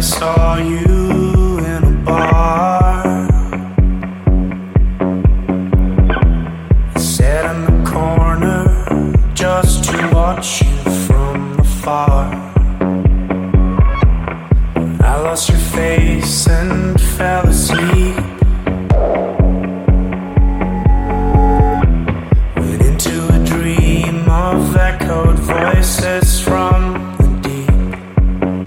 saw you in a bar. Sat in the corner just to watch you from afar. I lost your face and fell asleep. Went into a dream of echoed voices from the deep.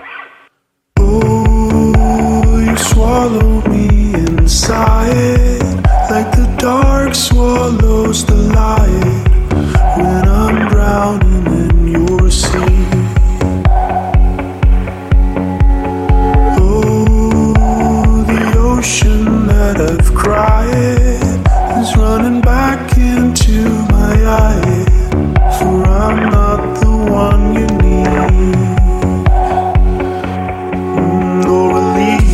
Oh, you swallow me inside like the dark swallows the light when I'm drowning in your sea. Ocean that I've cried is running back into my eye, for I'm not the one you need. No relief.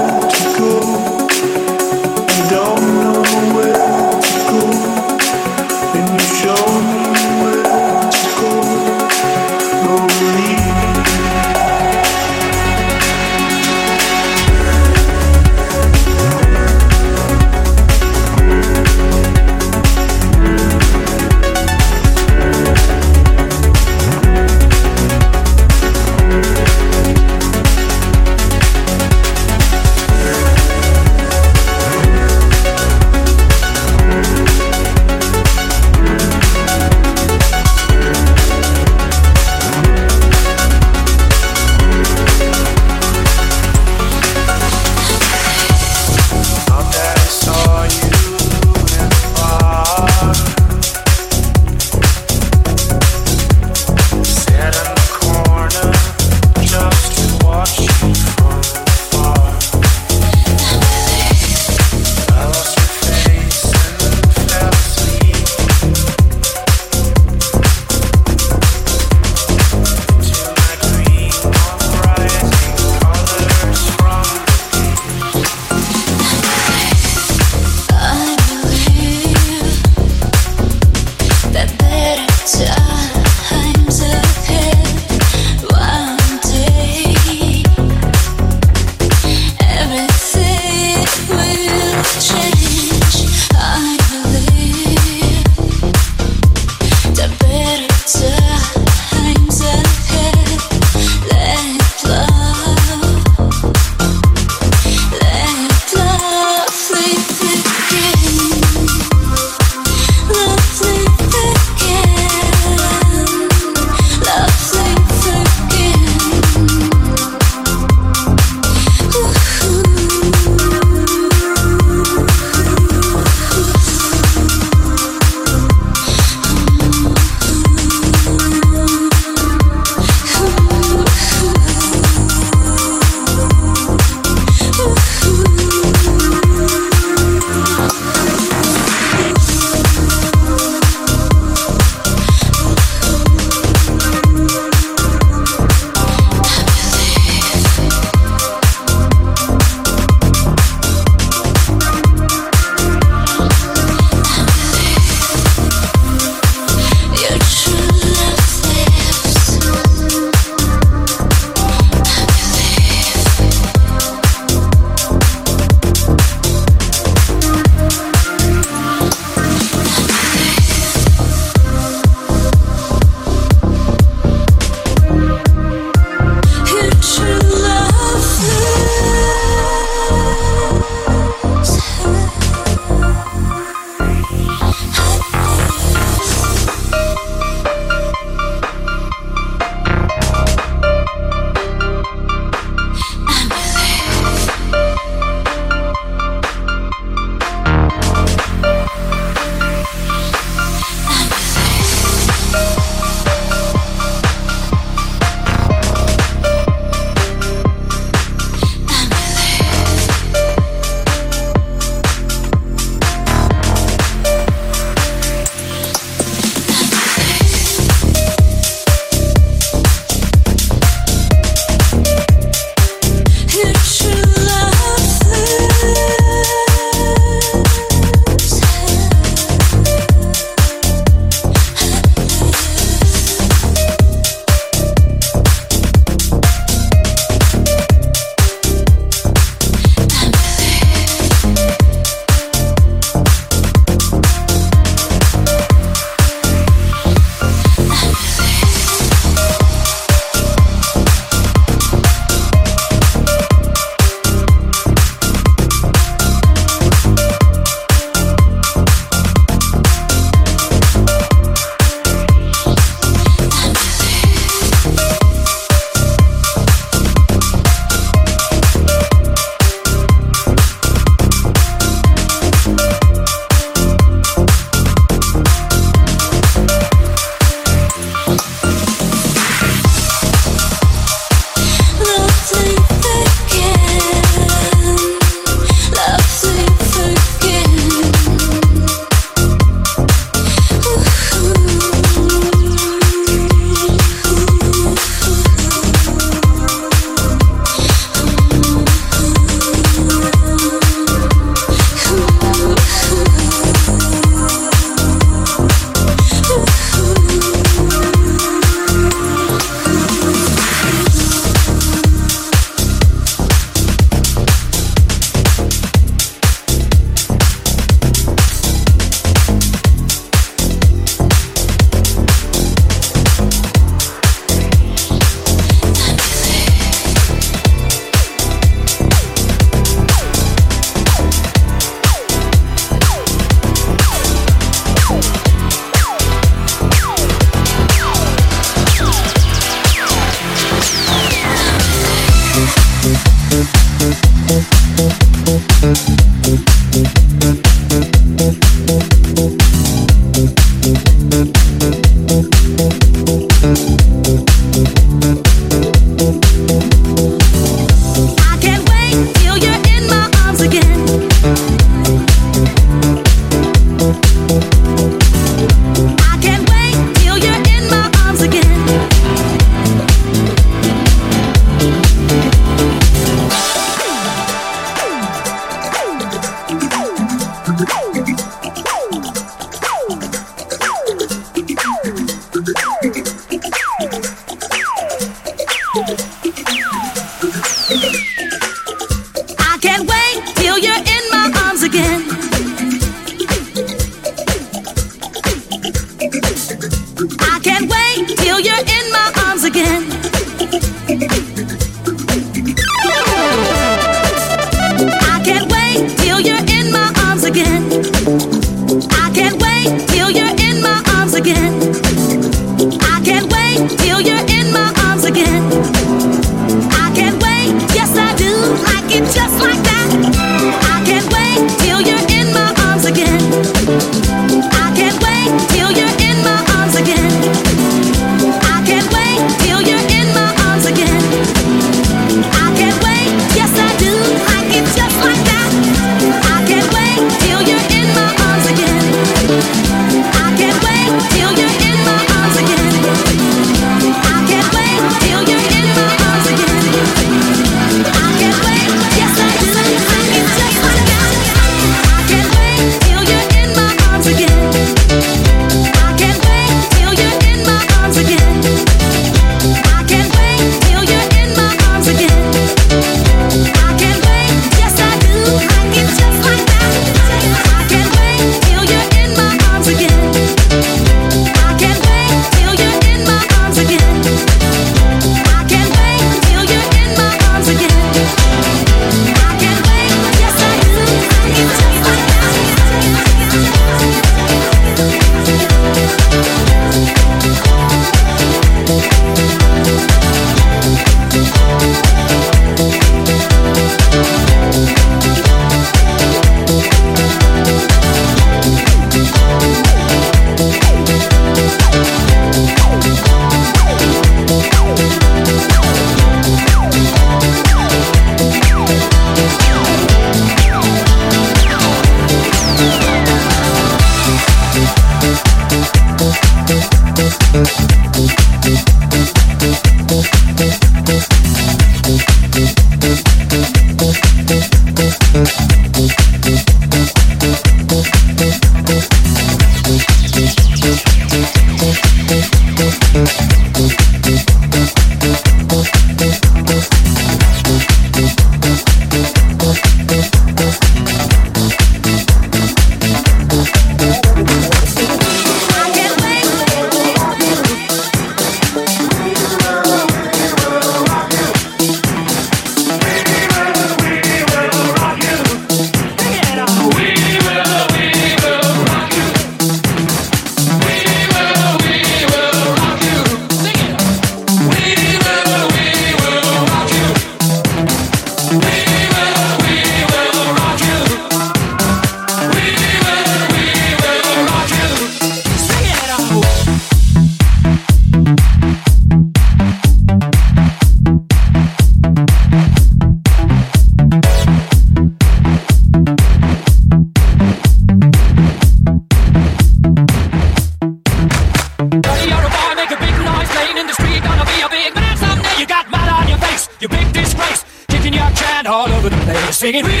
Singing, we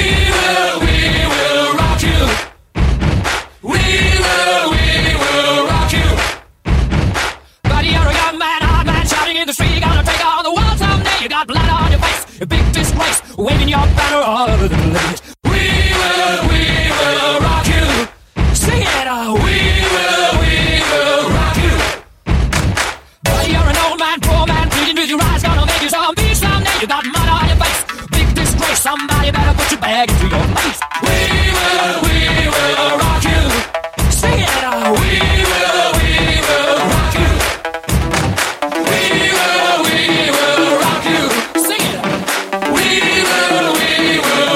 will rock you. We will rock you. Buddy, you're a young man, hard man, shouting in the street. You're gonna take on the world someday. You got blood on your face, a big disgrace, waving your banner all over the place. We will rock you. Sing it, we will rock you. Buddy, you're an old man, poor man, pleading with your eyes, gonna make you zombie someday. You got mud on your face, big disgrace, somebody better put your bag into your face. We will rock you. Sing it, we will rock you. We will rock you. Sing it, we will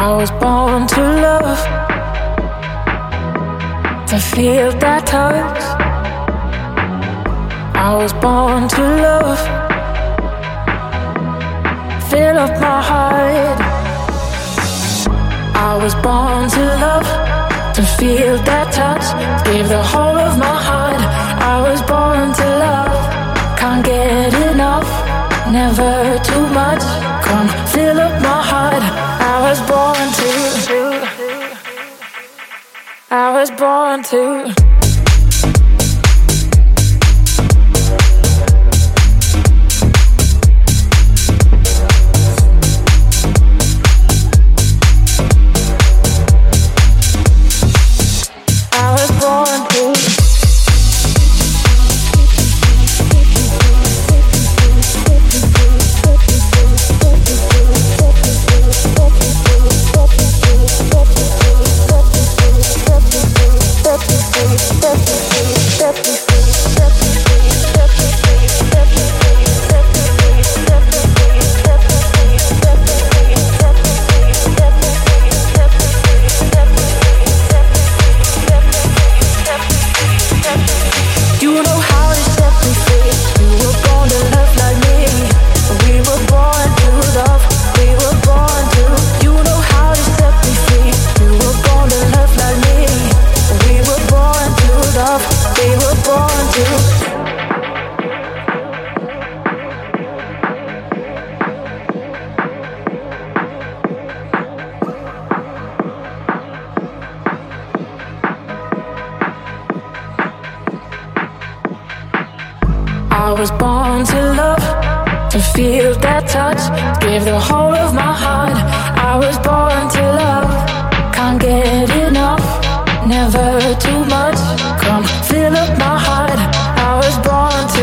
I was born to love, to feel that touch. I was born to love, fill up my heart. I was born to love, to feel that touch, give the whole of my heart. I was born to love, can't get enough, never too much. Come fill up my heart. I was born to, I was born to. I was born to love, to feel that touch, give the whole of my heart. I was born to love, can't get enough, never too much. Come fill up my heart. I was born to.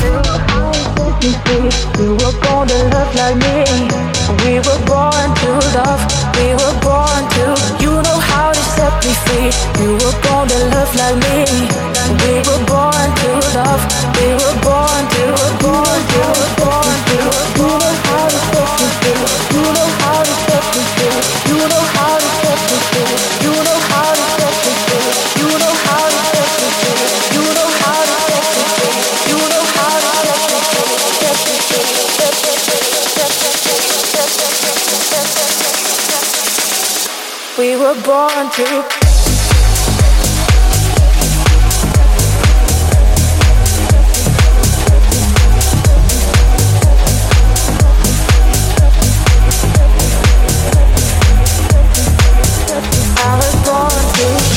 You were born to love like me. We were born to love. We were born to. You know how to set me free. You were born to love like me. We were born to love. We were born to. Born to. Born to. You know how to set me free. You know how to set me free. You know how to set me free. You know how to set me free. You know how to set me free. You know how to set me free. You know how to set me free. Set me free. We were born to. I was born to.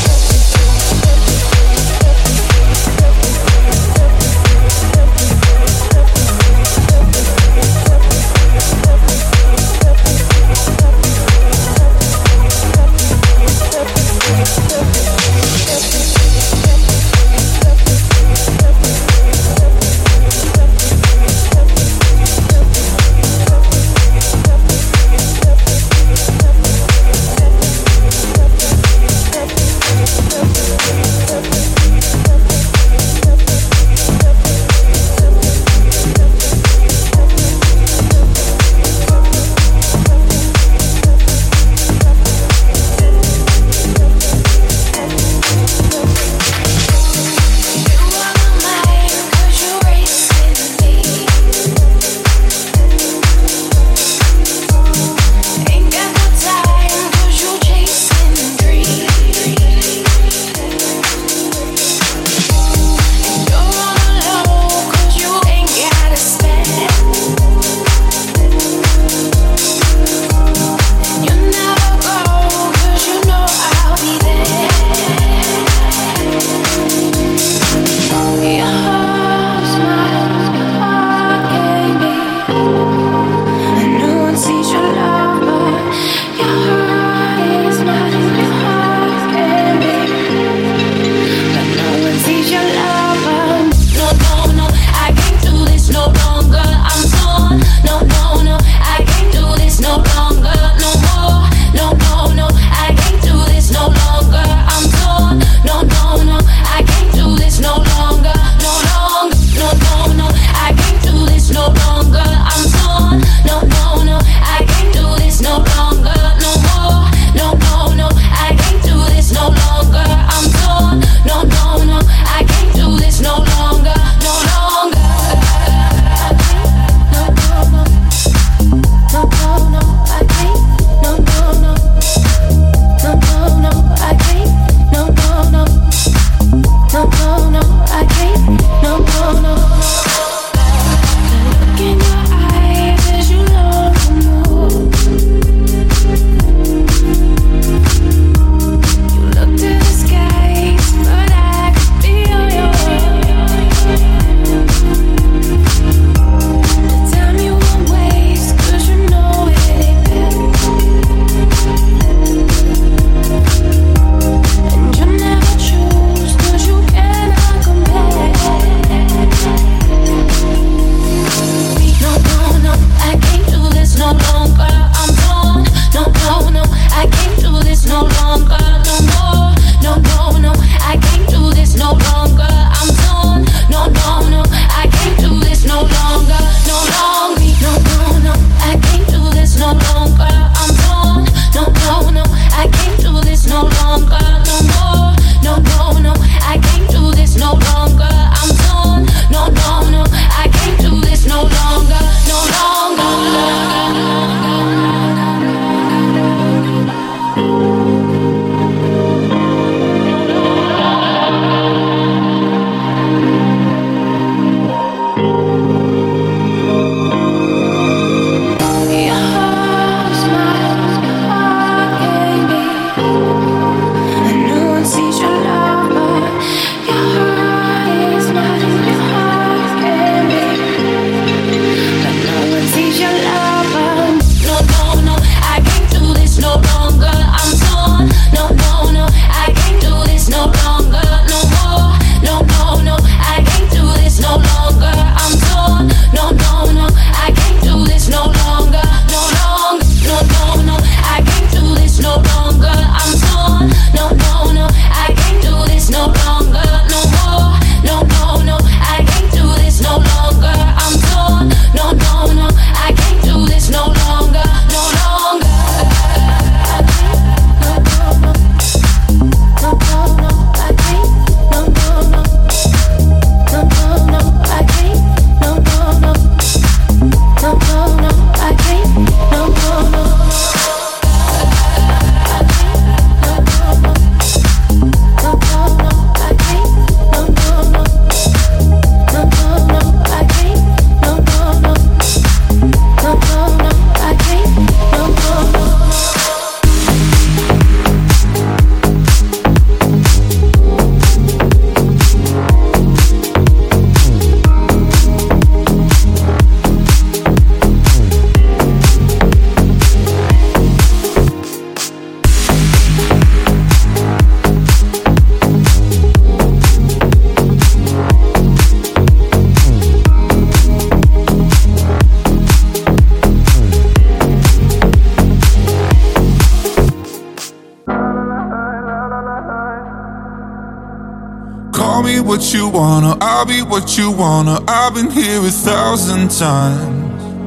what you wanna, I'll be what you wanna. I've been here 1,000 times.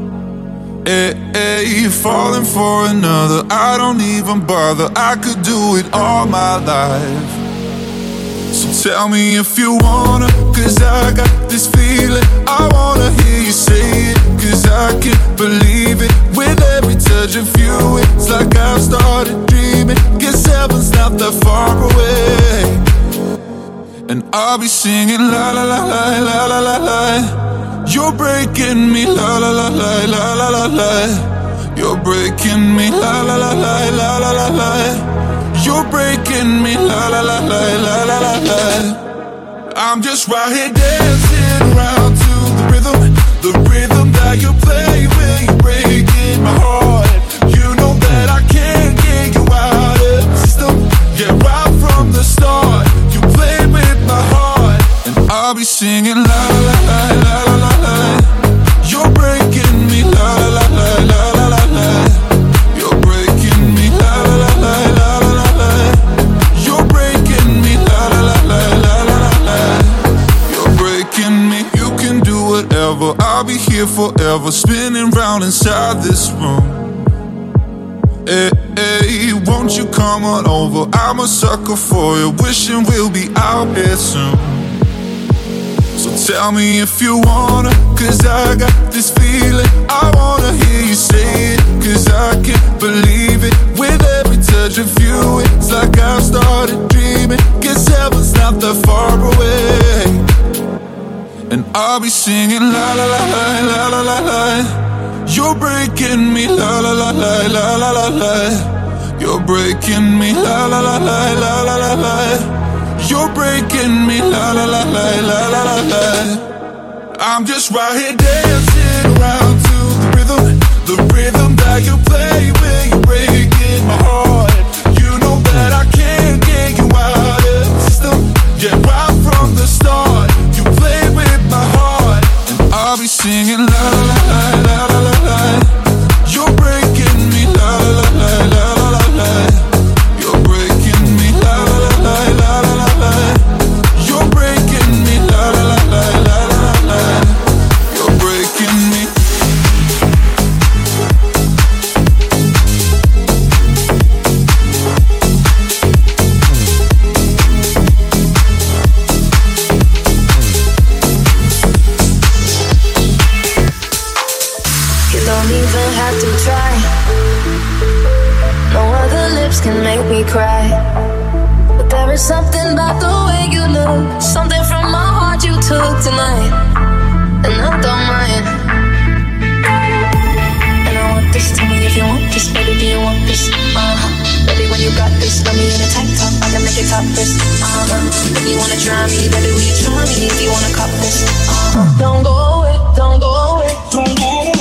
You're falling for another, I don't even bother. I could do it all my life. So tell me if you wanna, cause I got this feeling. I wanna hear you say it, cause I can't believe it. With every touch of you, it's like I've started dreaming. Guess heaven's not that far away. And I'll be singing la la la la la la la la. You're breaking me la la la la la la la la. You're breaking me la la la la la la la la. You're breaking me la la la la la la la la. I'm just right here dancing around to the rhythm that you play when you're breaking my heart. You know that I can't get you out of the system. Yeah, right from the start, you play with my heart, and I'll be singing la la la la la la la. You're breaking me la la la la la la la. You're breaking me la la la la la la la. You're breaking me la la la la la la la. You're breaking me. You can do whatever, I'll be here forever, spinning round inside this room. Hey, won't you come on over? I'm a sucker for you, wishing we'll be out here soon. So tell me if you wanna, cause I got this feeling. I wanna hear you say it, cause I can't believe it. With every touch of you, it's like I've started dreaming. Guess heaven's not that far away. And I'll be singing la la la la la la la la. You're breaking me la la la la la la la la. You're breaking me la la la la la la la la. You're breaking me la la la la la la la la. I'm just right here dancing around to the rhythm that you play when you're breaking my heart. You know that I can't get you out of the system. Yeah, right from the start, you play with my heart, and I'll be singing la la la la la la la. You're breaking me la la la la la la la. You're breaking me la la la la la la la. You're breaking me la la la la la la la. You're breaking me. Don't even have to try. No other lips can make me cry. But there is something about the way you look, something from my heart you took tonight, and I don't mind. And I want this, tell me if you want this, baby, do you want this? Baby, when you got this, got me in a tank top, I can make it topless. If you wanna try me, baby, will you try me? If you wanna cop this, don't go away, don't go away, don't go away.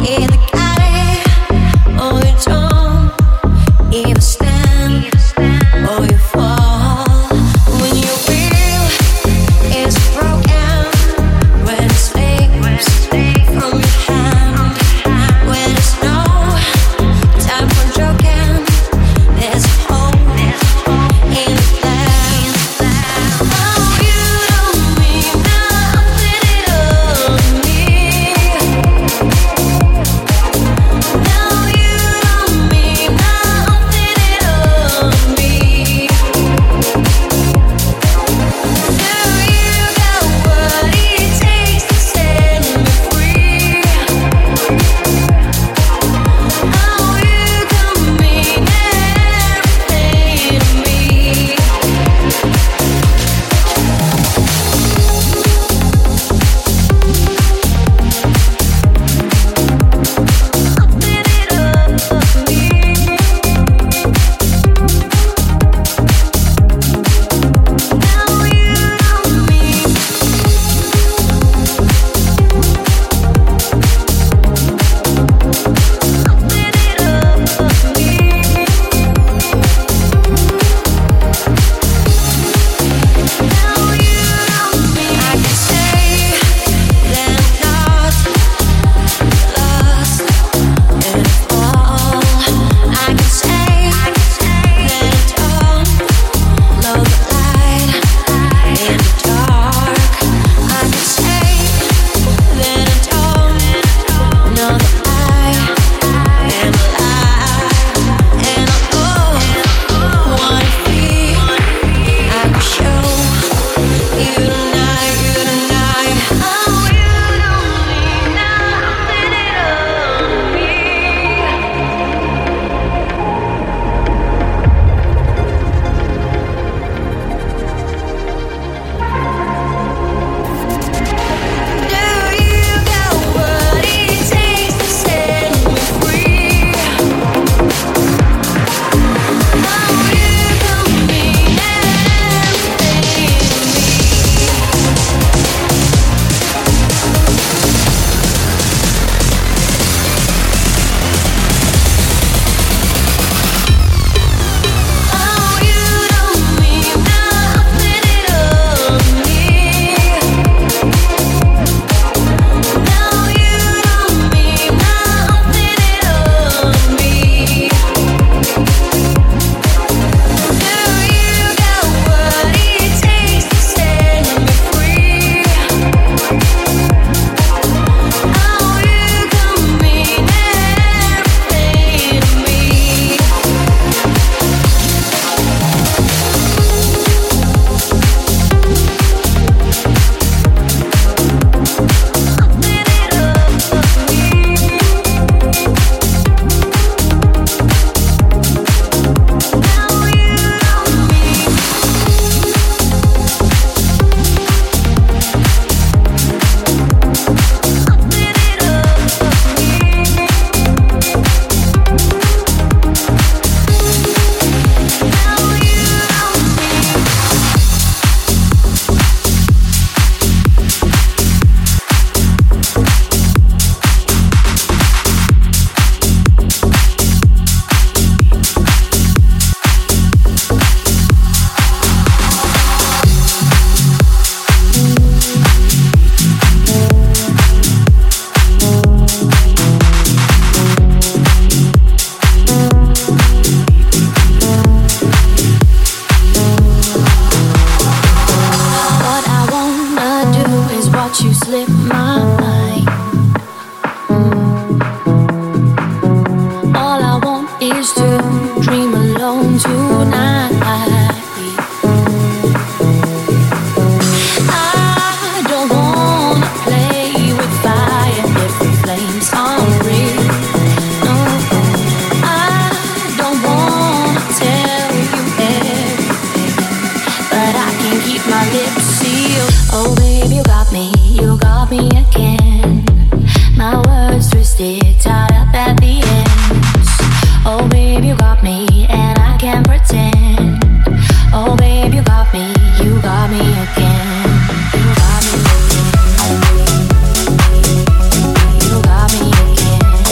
You got me again.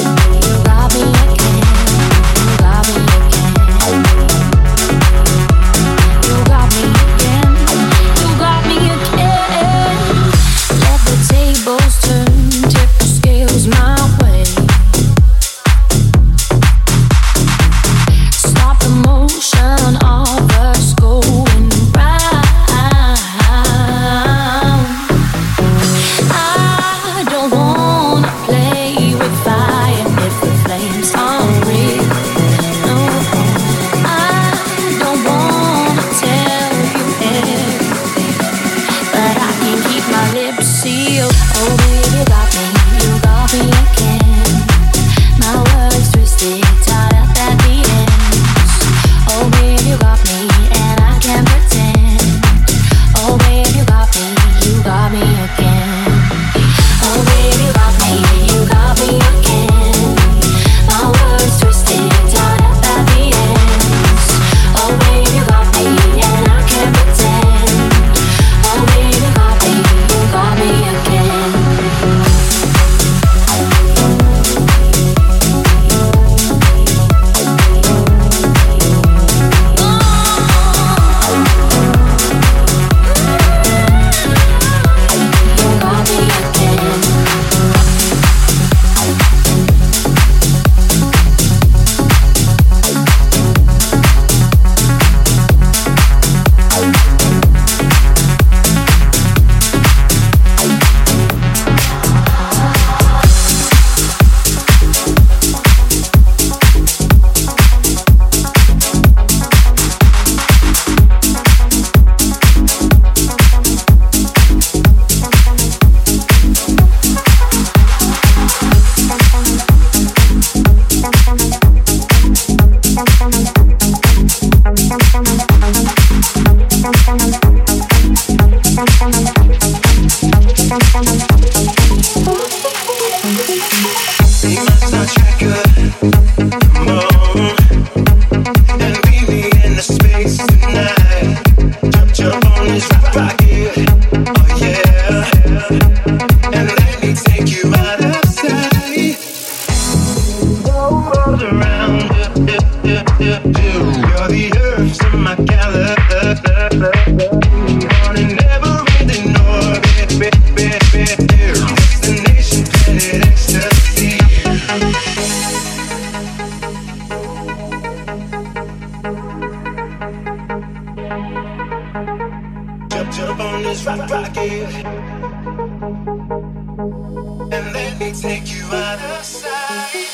take you out of sight.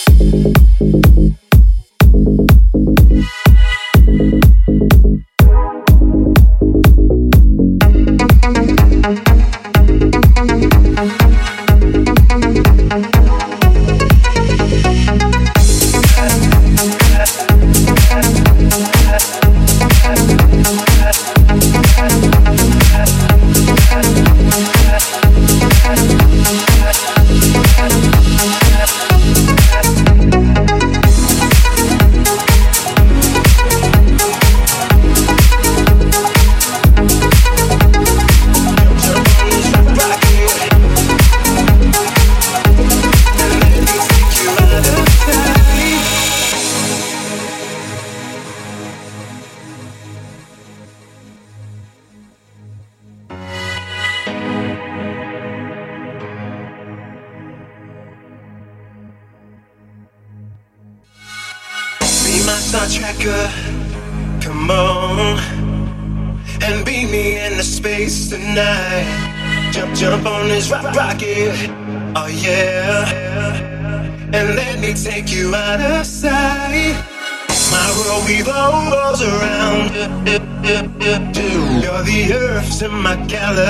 Star Trekker, come on and beat me into space tonight. Jump on this rocket, oh yeah, and let me take you out of sight. My world revolves around you. You're the earth in my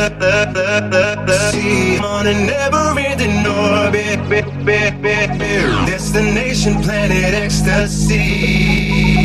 galaxy, on a never-ending orbit. Destination planet ecstasy.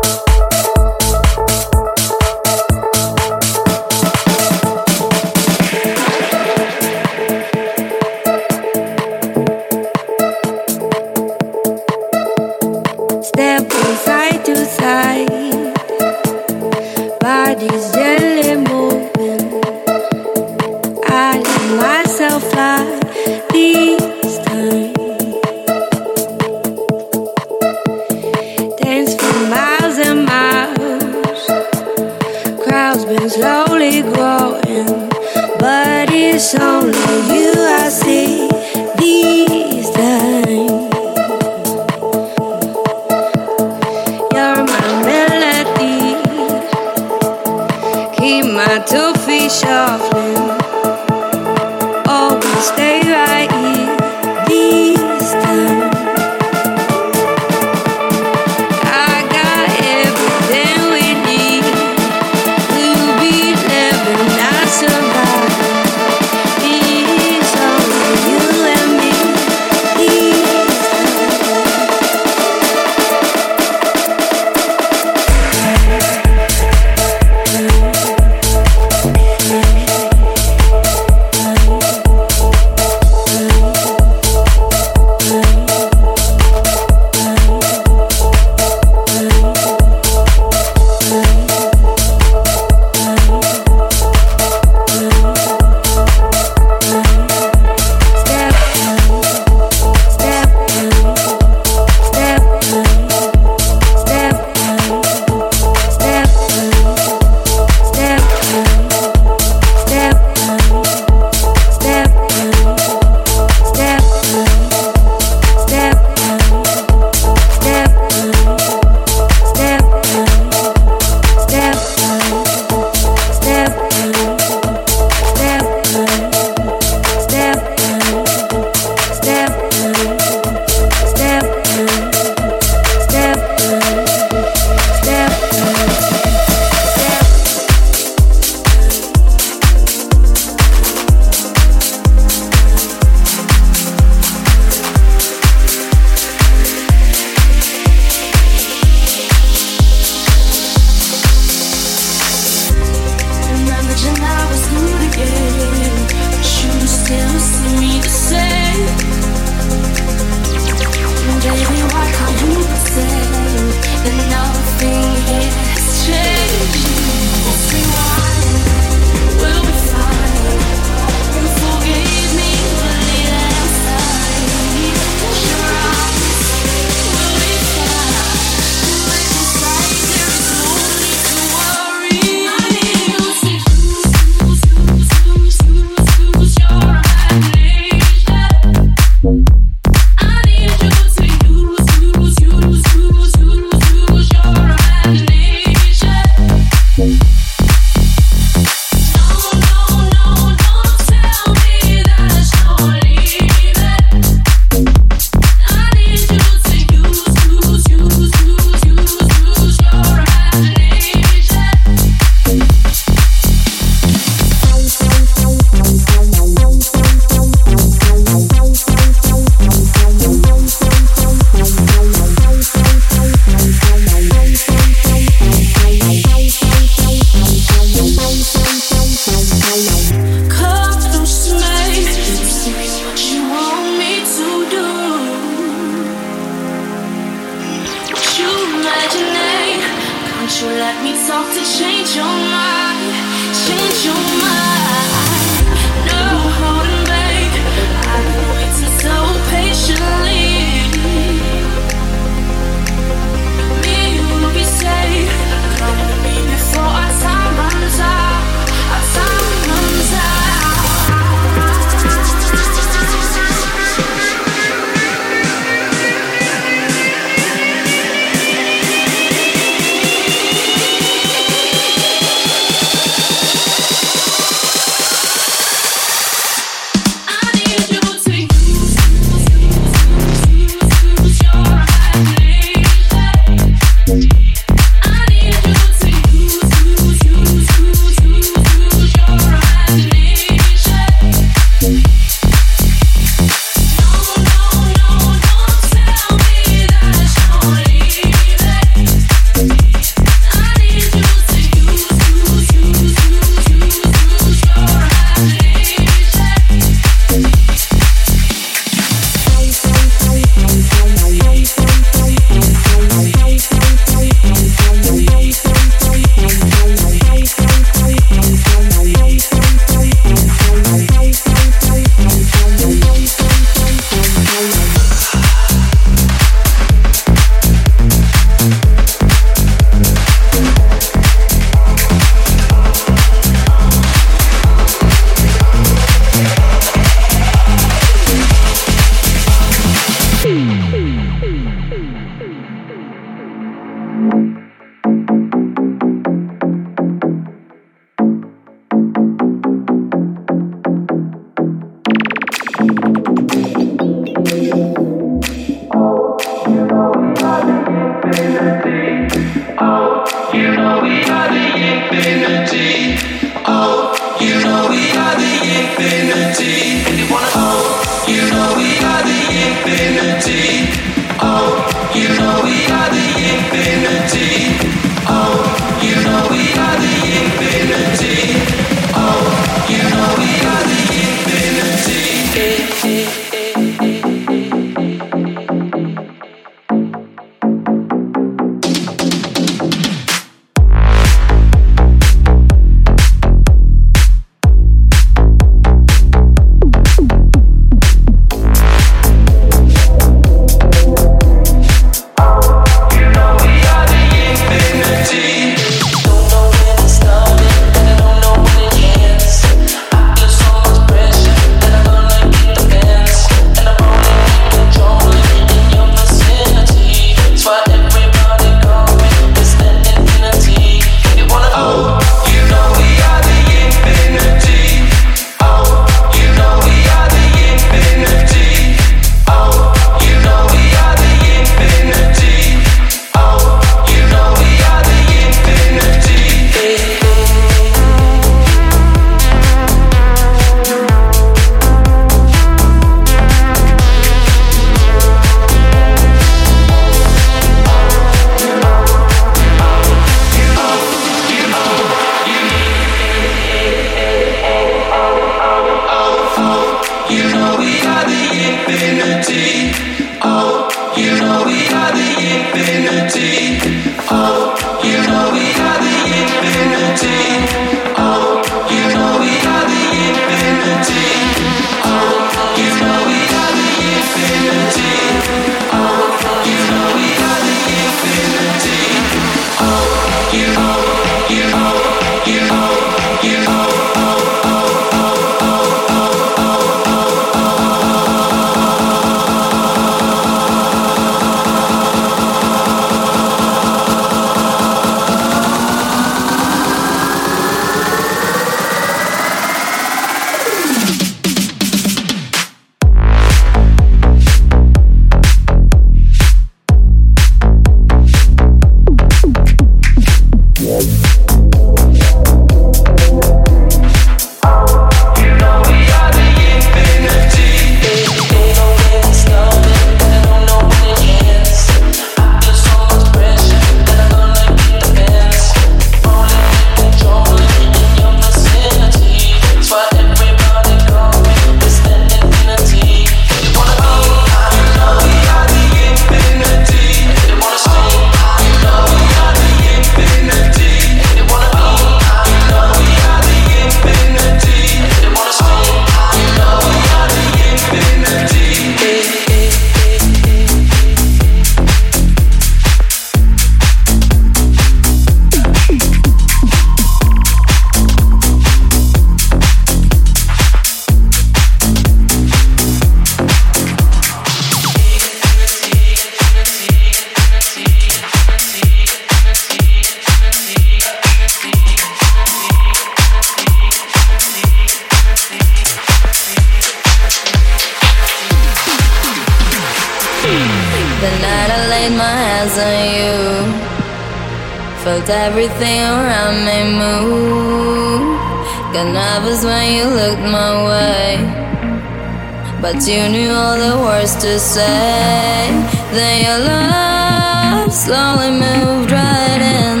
The night I laid my hands on you, felt everything around me move. Got nervous when you looked my way, but you knew all the words to say. Then your love slowly moved right in.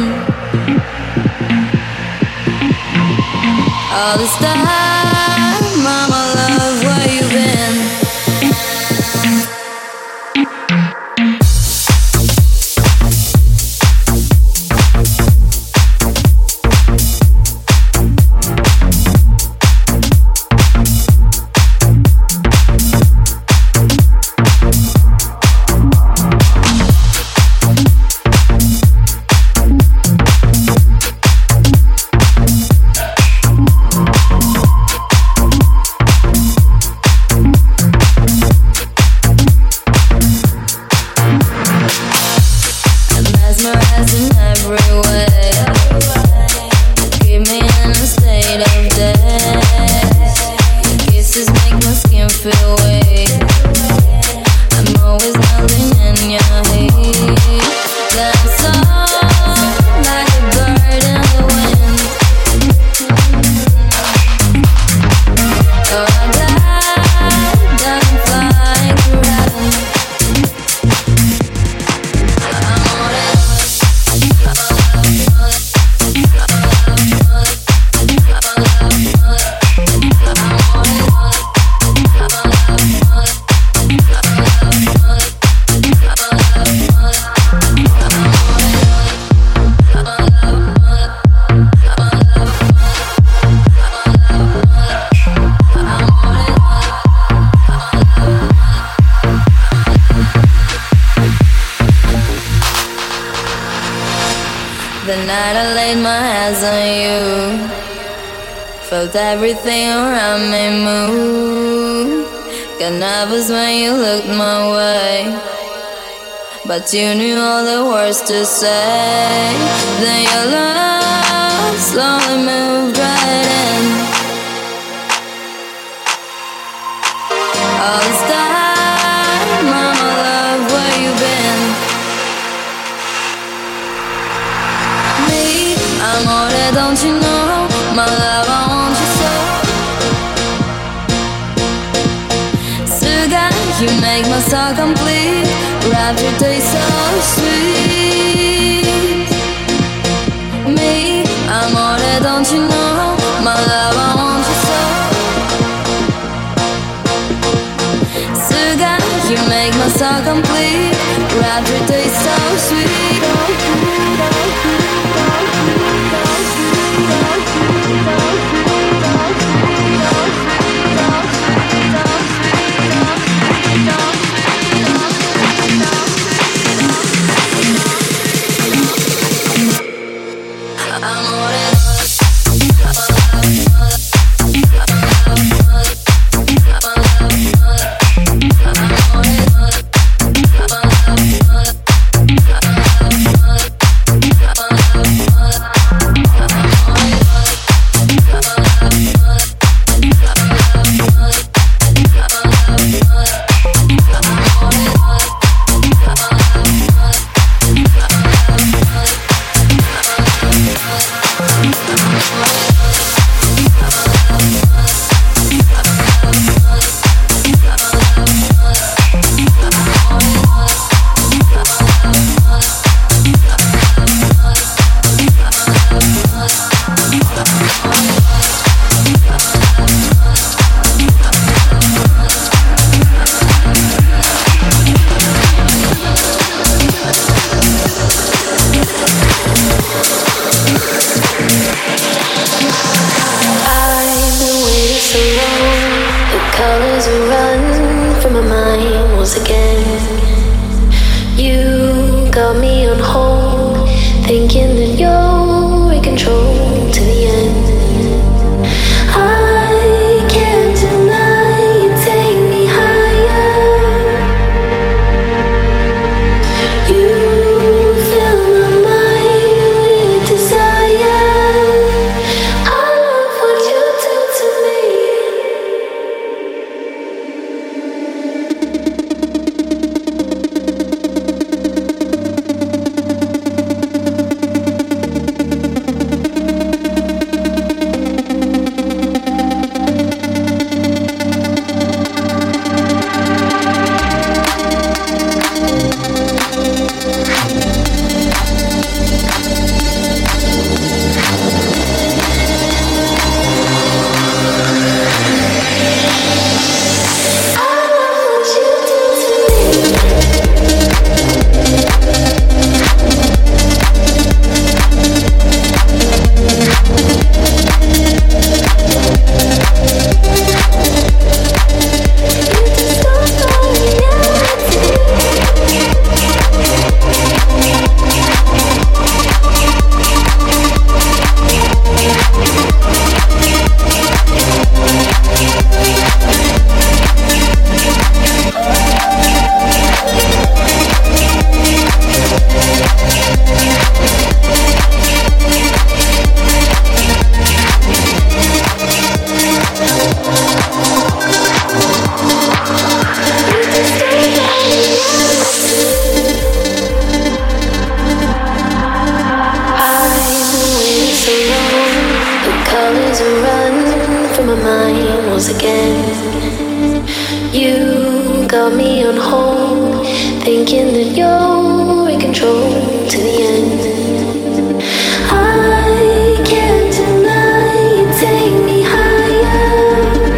All this time, mama love, where you been? Felt everything around me move. Got nervous when you looked my way, but you knew all the words to say. Then your love slowly moved right in. All this time, mama love, where you been? Me, I'm all that, don't you know? My love, I want you so. Sugar, you make my soul complete. Rapture taste so sweet. Me, I'm all that, don't you know? My love, I want you so. Sugar, you make my soul complete. Rapture taste so sweet. got me on hold, thinking that you're in control to the end. I can't deny you take me higher.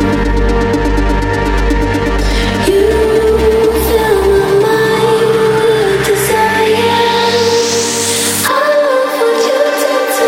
You fill my mind with desire. I love what you did to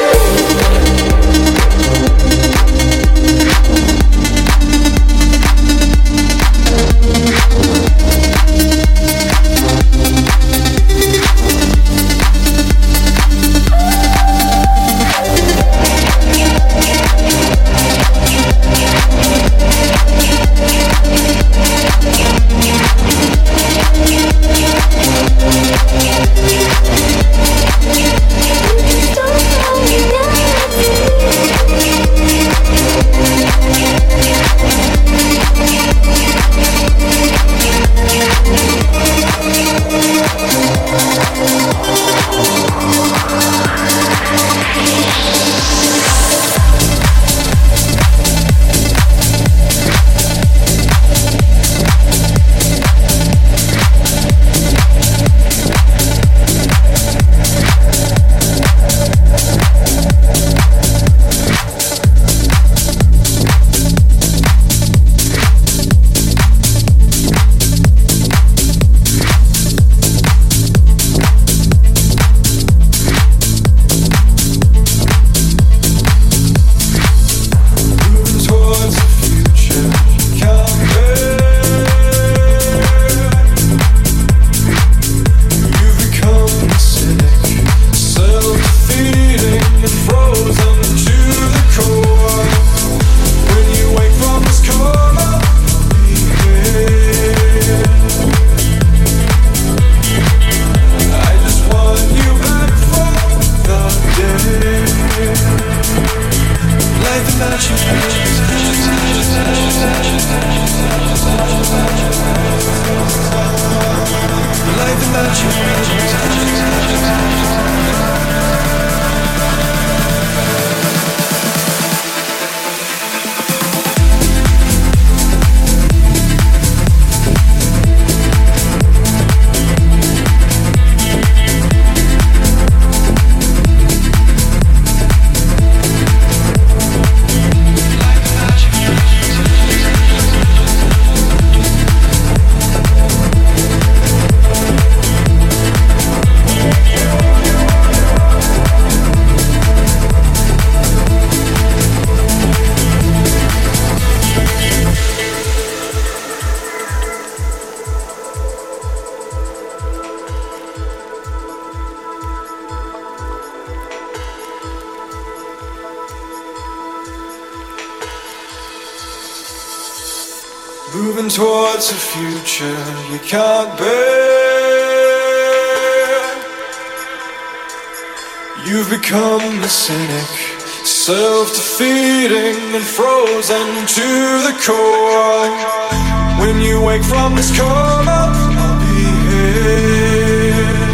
moving towards a future you can't bear. You've become a cynic, self-defeating and frozen to the core. When you wake from this coma, I'll be here.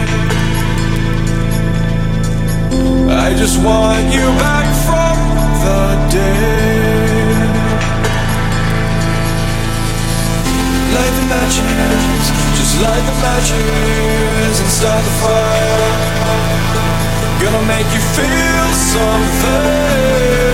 I just want you back from the dead. Light the matches, just light the matches and start the fire. Gonna make you feel something.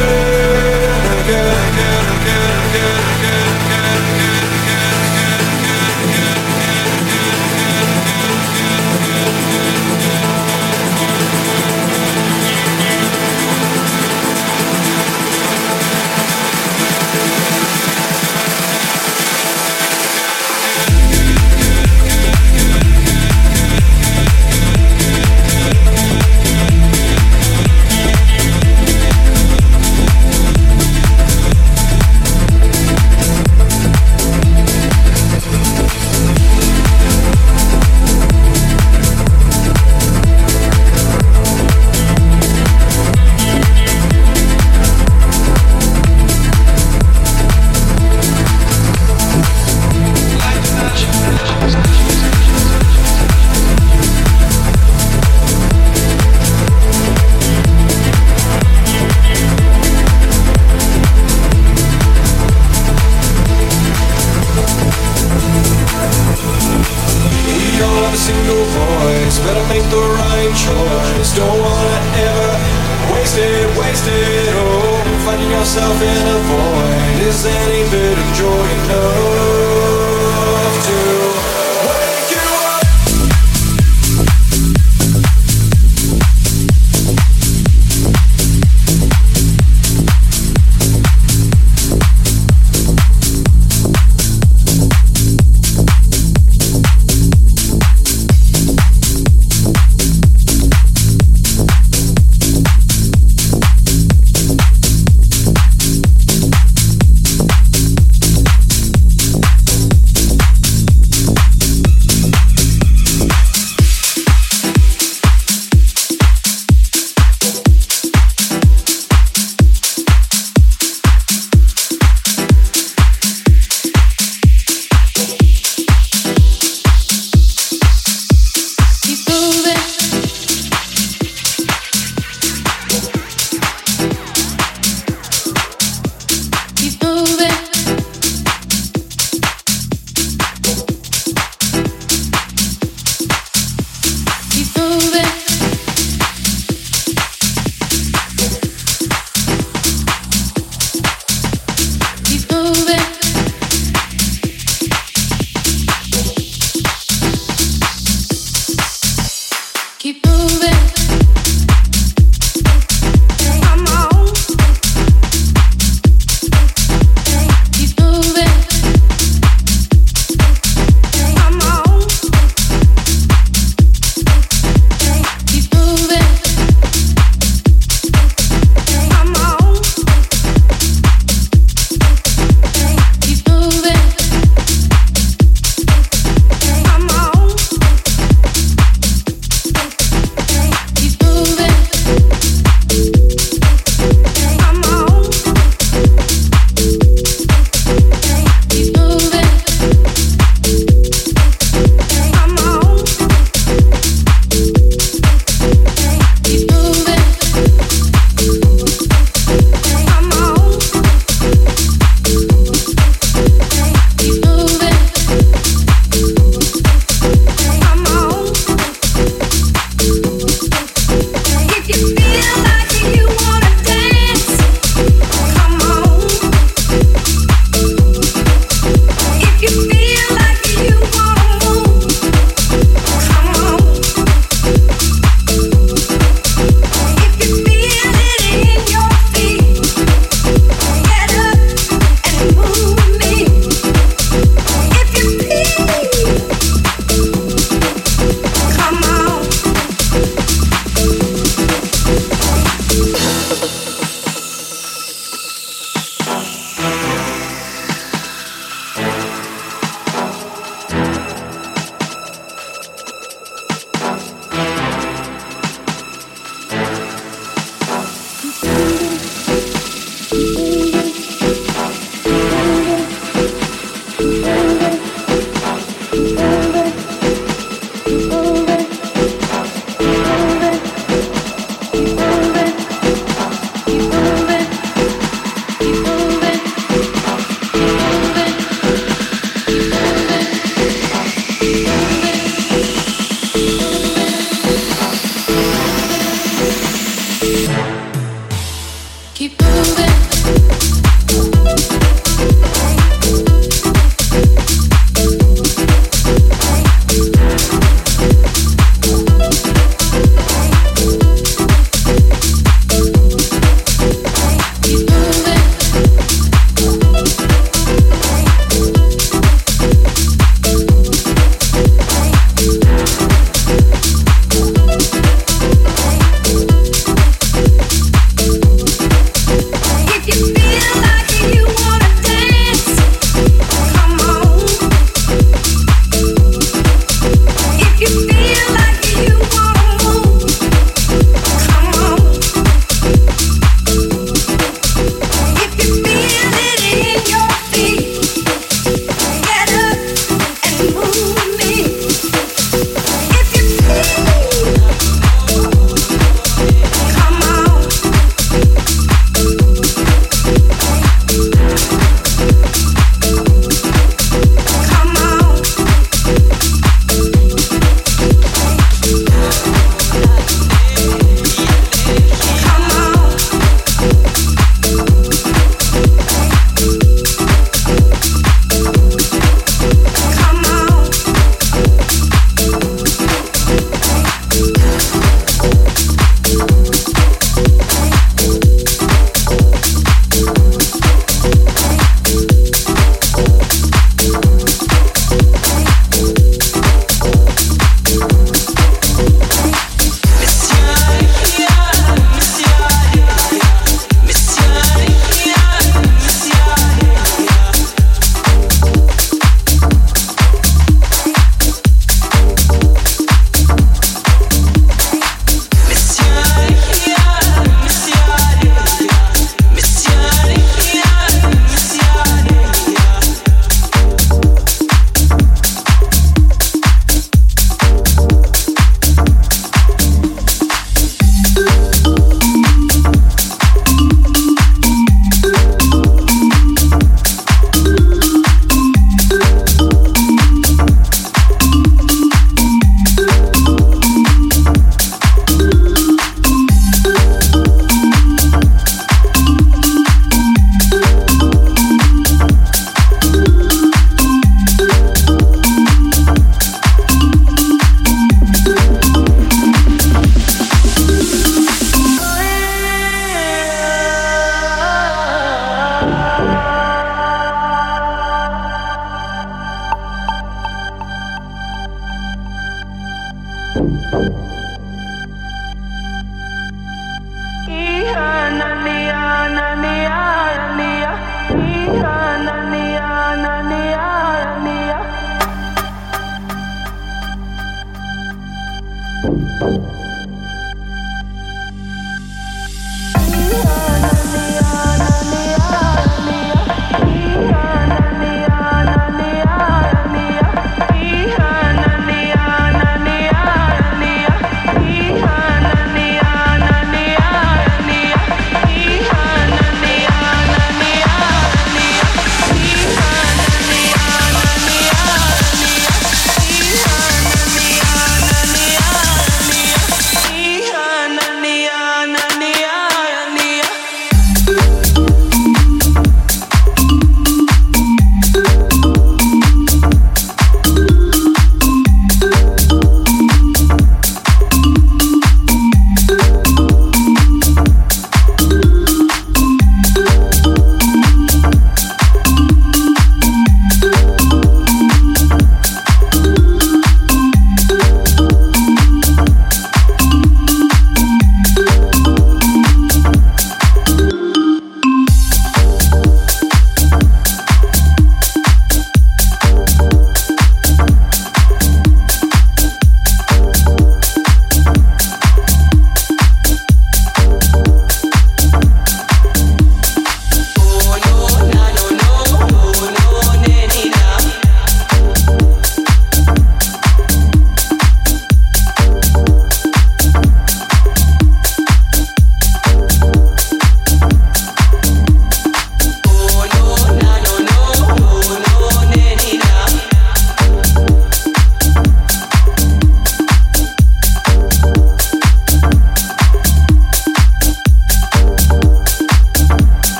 make the right choice. Don't wanna ever waste it, oh. Finding yourself in a void, is any bit of joy enough to wake you up? Yeah.